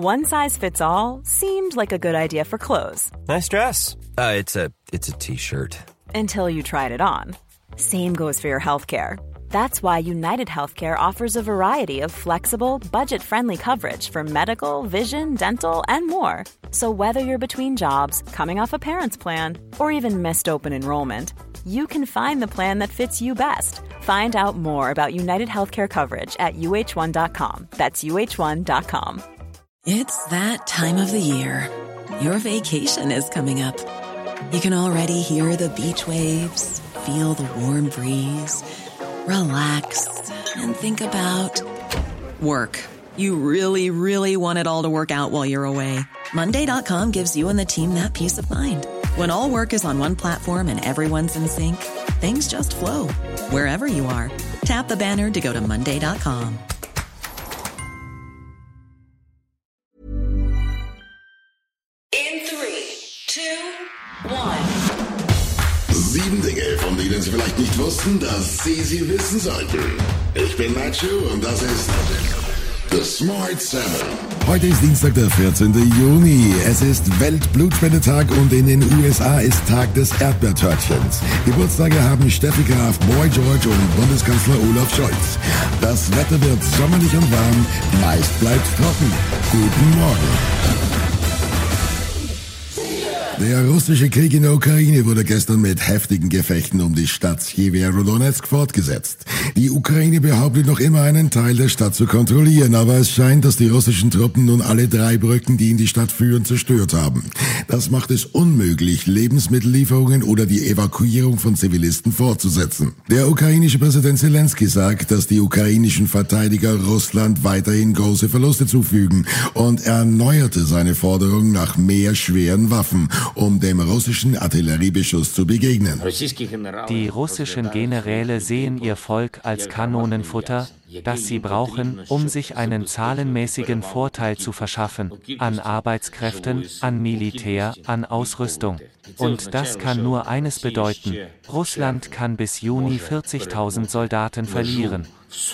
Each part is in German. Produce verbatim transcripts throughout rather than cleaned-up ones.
One size fits all seemed like a good idea for clothes. Nice dress. Uh, it's a it's a t-shirt. Until you tried it on. Same goes for your healthcare. That's why United Healthcare offers a variety of flexible, budget-friendly coverage for medical, vision, dental, and more. So whether you're between jobs, coming off a parent's plan, or even missed open enrollment, you can find the plan that fits you best. Find out more about United Healthcare coverage at U H one dot com. That's U H one dot com. It's that time of the year. Your vacation is coming up. You can already hear the beach waves, feel the warm breeze, relax, and think about work. You really, really want it all to work out while you're away. Monday dot com gives you and the team that peace of mind. When all work is on one platform and everyone's in sync, things just flow. Wherever you are, tap the banner to go to Monday dot com. In three, two, one. Sieben Dinge, von denen Sie vielleicht nicht wussten, dass Sie sie wissen sollten. Ich bin Nacho und das ist The Smart Seven. Heute ist Dienstag, der vierzehnten Juni. Es ist Weltblutspendetag und in den U S A ist Tag des Erdbeertörtchens. Geburtstage haben Steffi Graf, Boy George und Bundeskanzler Olaf Scholz. Das Wetter wird sommerlich und warm, meist bleibt trocken. Guten Morgen. Der russische Krieg in der Ukraine wurde gestern mit heftigen Gefechten um die Stadt Sjeverodonezk fortgesetzt. Die Ukraine behauptet noch immer einen Teil der Stadt zu kontrollieren, aber es scheint, dass die russischen Truppen nun alle drei Brücken, die in die Stadt führen, zerstört haben. Das macht es unmöglich, Lebensmittellieferungen oder die Evakuierung von Zivilisten fortzusetzen. Der ukrainische Präsident Zelensky sagt, dass die ukrainischen Verteidiger Russland weiterhin große Verluste zufügen und erneuerte seine Forderung nach mehr schweren Waffen, um dem russischen Artilleriebeschuss zu begegnen. Die russischen Generäle sehen ihr Volk als Kanonenfutter, das sie brauchen, um sich einen zahlenmäßigen Vorteil zu verschaffen, an Arbeitskräften, an Militär, an Ausrüstung. Und das kann nur eines bedeuten: Russland kann bis Juni vierzigtausend Soldaten verlieren.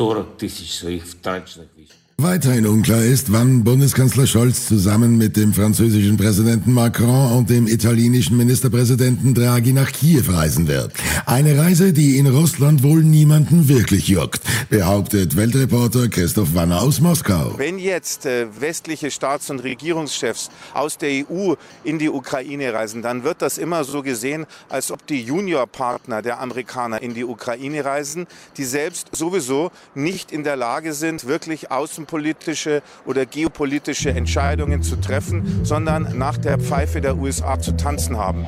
Weiterhin unklar ist, wann Bundeskanzler Scholz zusammen mit dem französischen Präsidenten Macron und dem italienischen Ministerpräsidenten Draghi nach Kiew reisen wird. Eine Reise, die in Russland wohl niemanden wirklich juckt, behauptet Weltreporter Christoph Wanner aus Moskau. Wenn jetzt äh, westliche Staats- und Regierungschefs aus der E U in die Ukraine reisen, dann wird das immer so gesehen, als ob die Juniorpartner der Amerikaner in die Ukraine reisen, die selbst sowieso nicht in der Lage sind, wirklich außen politische oder geopolitische Entscheidungen zu treffen, sondern nach der Pfeife der U S A zu tanzen haben.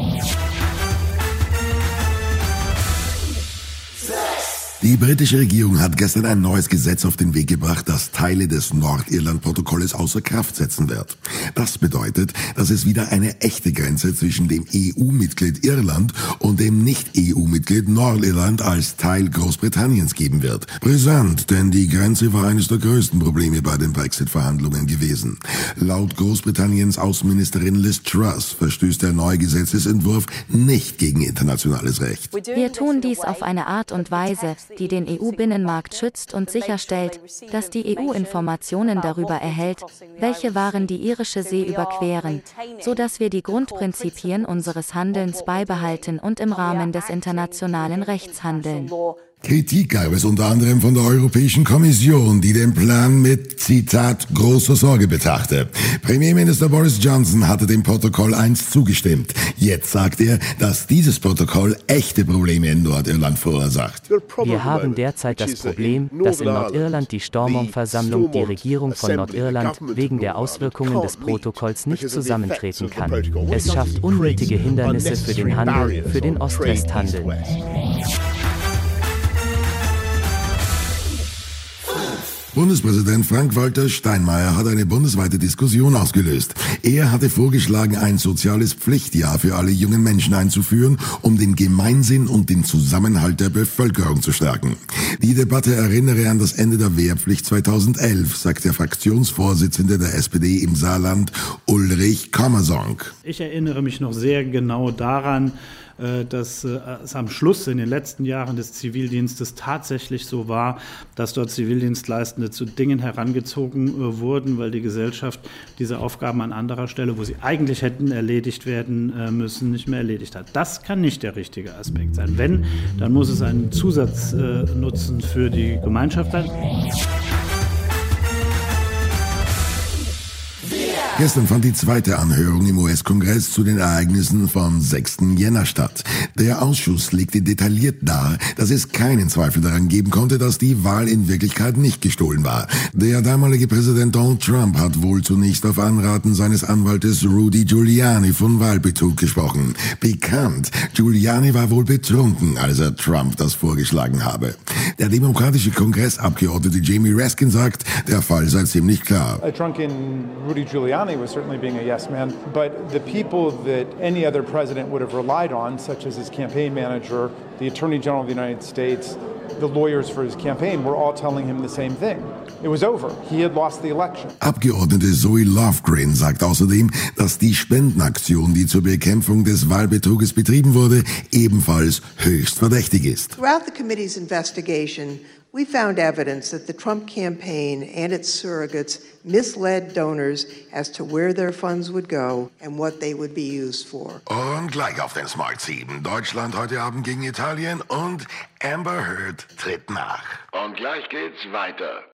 Die britische Regierung hat gestern ein neues Gesetz auf den Weg gebracht, das Teile des Nordirland-Protokolles außer Kraft setzen wird. Das bedeutet, dass es wieder eine echte Grenze zwischen dem E U-Mitglied Irland und dem Nicht-E U-Mitglied Nordirland als Teil Großbritanniens geben wird. Brisant, denn die Grenze war eines der größten Probleme bei den Brexit-Verhandlungen gewesen. Laut Großbritanniens Außenministerin Liz Truss verstößt der neue Gesetzesentwurf nicht gegen internationales Recht. Wir tun dies auf eine Art und Weise, die den E U-Binnenmarkt schützt und sicherstellt, dass die E U Informationen darüber erhält, welche Waren die irische See überqueren, sodass wir die Grundprinzipien unseres Handelns beibehalten und im Rahmen des internationalen Rechts handeln. Kritik gab es unter anderem von der Europäischen Kommission, die den Plan mit, Zitat, großer Sorge betrachte. Premierminister Boris Johnson hatte dem Protokoll einst zugestimmt. Jetzt sagt er, dass dieses Protokoll echte Probleme in Nordirland verursacht. Wir haben derzeit das Problem, dass in Nordirland die Stormont-Versammlung die Regierung von Nordirland wegen der Auswirkungen des Protokolls nicht zusammentreten kann. Es schafft unnötige Hindernisse für den Handel, für den Ost-West-Handel. Bundespräsident Frank-Walter Steinmeier hat eine bundesweite Diskussion ausgelöst. Er hatte vorgeschlagen, ein soziales Pflichtjahr für alle jungen Menschen einzuführen, um den Gemeinsinn und den Zusammenhalt der Bevölkerung zu stärken. Die Debatte erinnere an das Ende der Wehrpflicht zweitausendelf, sagt der Fraktionsvorsitzende der S P D im Saarland, Ulrich Kammersonk. Ich erinnere mich noch sehr genau daran, dass es am Schluss in den letzten Jahren des Zivildienstes tatsächlich so war, dass dort Zivildienstleistende zu Dingen herangezogen wurden, weil die Gesellschaft diese Aufgaben an anderer Stelle, wo sie eigentlich hätten erledigt werden müssen, nicht mehr erledigt hat. Das kann nicht der richtige Aspekt sein. Wenn, dann muss es einen Zusatznutzen für die Gemeinschaft sein. Gestern fand die zweite Anhörung im U S-Kongress zu den Ereignissen vom sechsten Jänner statt. Der Ausschuss legte detailliert dar, dass es keinen Zweifel daran geben konnte, dass die Wahl in Wirklichkeit nicht gestohlen war. Der damalige Präsident Donald Trump hat wohl zunächst auf Anraten seines Anwaltes Rudy Giuliani von Wahlbetrug gesprochen. Bekannt, Giuliani war wohl betrunken, als er Trump das vorgeschlagen habe. Der demokratische Kongressabgeordnete Jamie Raskin sagt, der Fall sei ziemlich klar. A drunken Rudy Giuliani was certainly being a yes man, but the people that any other president would have relied on, such as his campaign manager, the Attorney General of the United States, the lawyers for his campaign, were all telling him the same thing. It was over. He had lost the election. Abgeordnete Zoe Lofgren sagt außerdem, dass die Spendenaktion, die zur Bekämpfung des Wahlbetruges betrieben wurde, ebenfalls höchst verdächtig ist. Throughout the committee's investigation, we found evidence that the Trump campaign and its surrogates misled donors as to where their funds would go and what they would be used for. Und gleich auf den Smart sieben. Deutschland heute Abend gegen Italien und Amber Heard tritt nach. Und gleich geht's weiter.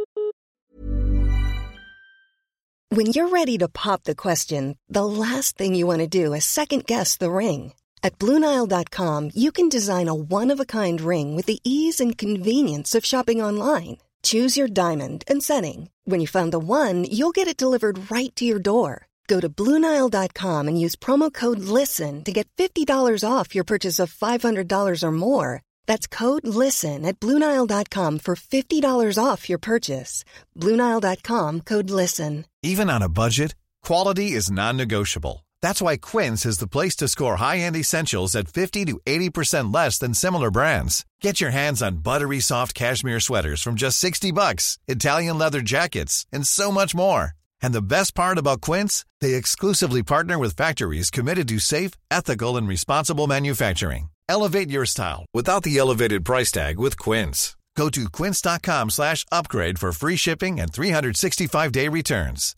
When you're ready to pop the question, the last thing you want to do is second-guess the ring. At Blue Nile dot com, you can design a one-of-a-kind ring with the ease and convenience of shopping online. Choose your diamond and setting. When you find the one, you'll get it delivered right to your door. Go to Blue Nile dot com and use promo code LISTEN to get fifty dollars off your purchase of five hundred dollars or more. That's code LISTEN at Blue Nile dot com for fifty dollars off your purchase. Blue Nile dot com, code LISTEN. Even on a budget, quality is non-negotiable. That's why Quince is the place to score high-end essentials at fifty to eighty percent less than similar brands. Get your hands on buttery soft cashmere sweaters from just sixty bucks, Italian leather jackets, and so much more. And the best part about Quince, they exclusively partner with factories committed to safe, ethical, and responsible manufacturing. Elevate your style without the elevated price tag with Quince. Go to quince dot com slash upgrade for free shipping and three sixty-five day returns.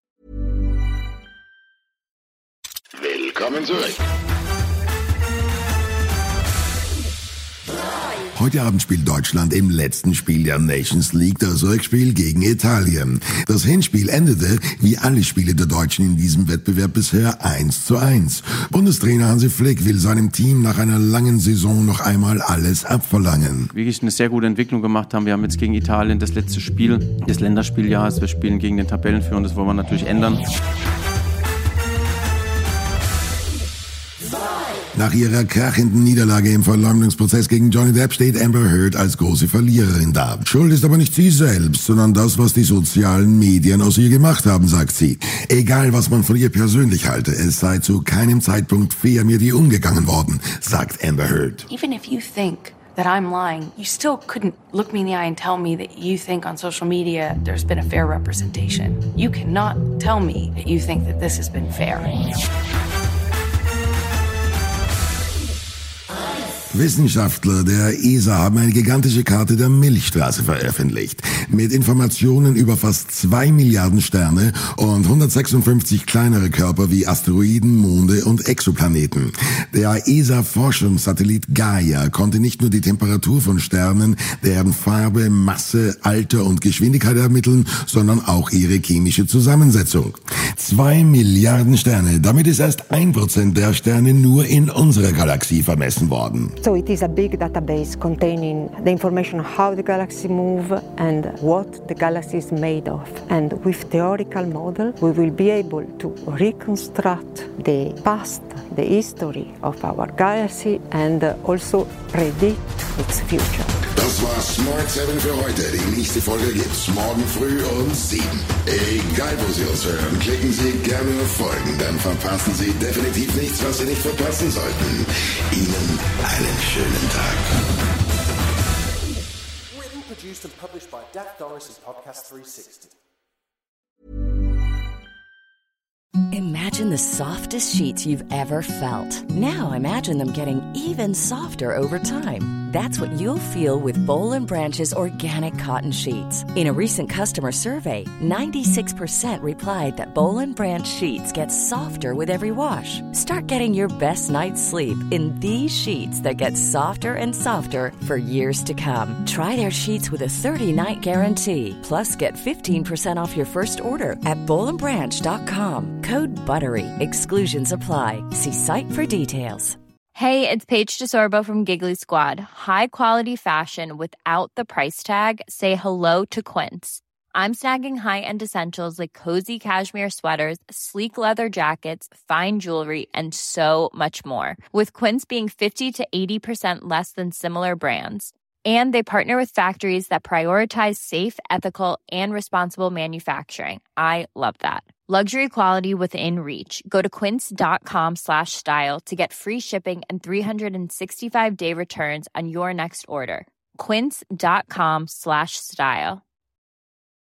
Willkommen zurück. Heute Abend spielt Deutschland im letzten Spiel der Nations League das Rückspiel gegen Italien. Das Hinspiel endete, wie alle Spiele der Deutschen in diesem Wettbewerb bisher, eins zu eins. Bundestrainer Hansi Flick will seinem Team nach einer langen Saison noch einmal alles abverlangen. Wirklich eine sehr gute Entwicklung gemacht haben. Wir haben jetzt gegen Italien das letzte Spiel des Länderspieljahres. Wir spielen gegen den Tabellenführer und das wollen wir natürlich ändern. Nach ihrer krachenden Niederlage im Verleumdungsprozess gegen Johnny Depp steht Amber Heard als große Verliererin da. Schuld ist aber nicht sie selbst, sondern das, was die sozialen Medien aus ihr gemacht haben, sagt sie. Egal, was man von ihr persönlich halte, es sei zu keinem Zeitpunkt fair mit ihr umgegangen worden, sagt Amber Heard. Even if you think that I'm lying, you still couldn't look me in the eye and tell me that you think on social media there's been a fair representation. You cannot tell me that you think that this has been fair. Wissenschaftler der E S A haben eine gigantische Karte der Milchstraße veröffentlicht, mit Informationen über fast zwei Milliarden Sterne und hundertsechsundfünfzig kleinere Körper wie Asteroiden, Monde und Exoplaneten. Der E S A-Forschungssatellit Gaia konnte nicht nur die Temperatur von Sternen, deren Farbe, Masse, Alter und Geschwindigkeit ermitteln, sondern auch ihre chemische Zusammensetzung. Zwei Milliarden Sterne, damit ist erst ein Prozent der Sterne nur in unserer Galaxie vermessen worden. So it is a big database containing the information on how the galaxy move and what the galaxy is made of. And with theoretical model, we will be able to reconstruct the past, the history of our galaxy and also predict its future. Das war Smart sieben für heute. Die nächste Folge gibt's morgen früh um sieben. Egal wo Sie uns hören, klicken Sie gerne auf Folgen, dann verpassen Sie definitiv nichts, was Sie nicht verpassen sollten. Ihnen einen schönen Tag. Written, produced and published by Dak Doris and Podcast three sixty. Imagine the softest sheets you've ever felt. Now imagine them getting even softer over time. That's what you'll feel with Boll and Branch's organic cotton sheets. In a recent customer survey, ninety-six percent replied that Boll and Branch sheets get softer with every wash. Start getting your best night's sleep in these sheets that get softer and softer for years to come. Try their sheets with a thirty-night guarantee. Plus, get fifteen percent off your first order at boll and branch dot com. Code BUTTERY. Exclusions apply. See site for details. Hey, it's Paige DeSorbo from Giggly Squad. High quality fashion without the price tag. Say hello to Quince. I'm snagging high-end essentials like cozy cashmere sweaters, sleek leather jackets, fine jewelry, and so much more. With Quince being fifty to eighty percent less than similar brands. And they partner with factories that prioritize safe, ethical, and responsible manufacturing. I love that. Luxury quality within reach. Go to quince.com slash style to get free shipping and three sixty-five day returns on your next order. Quince.com slash style.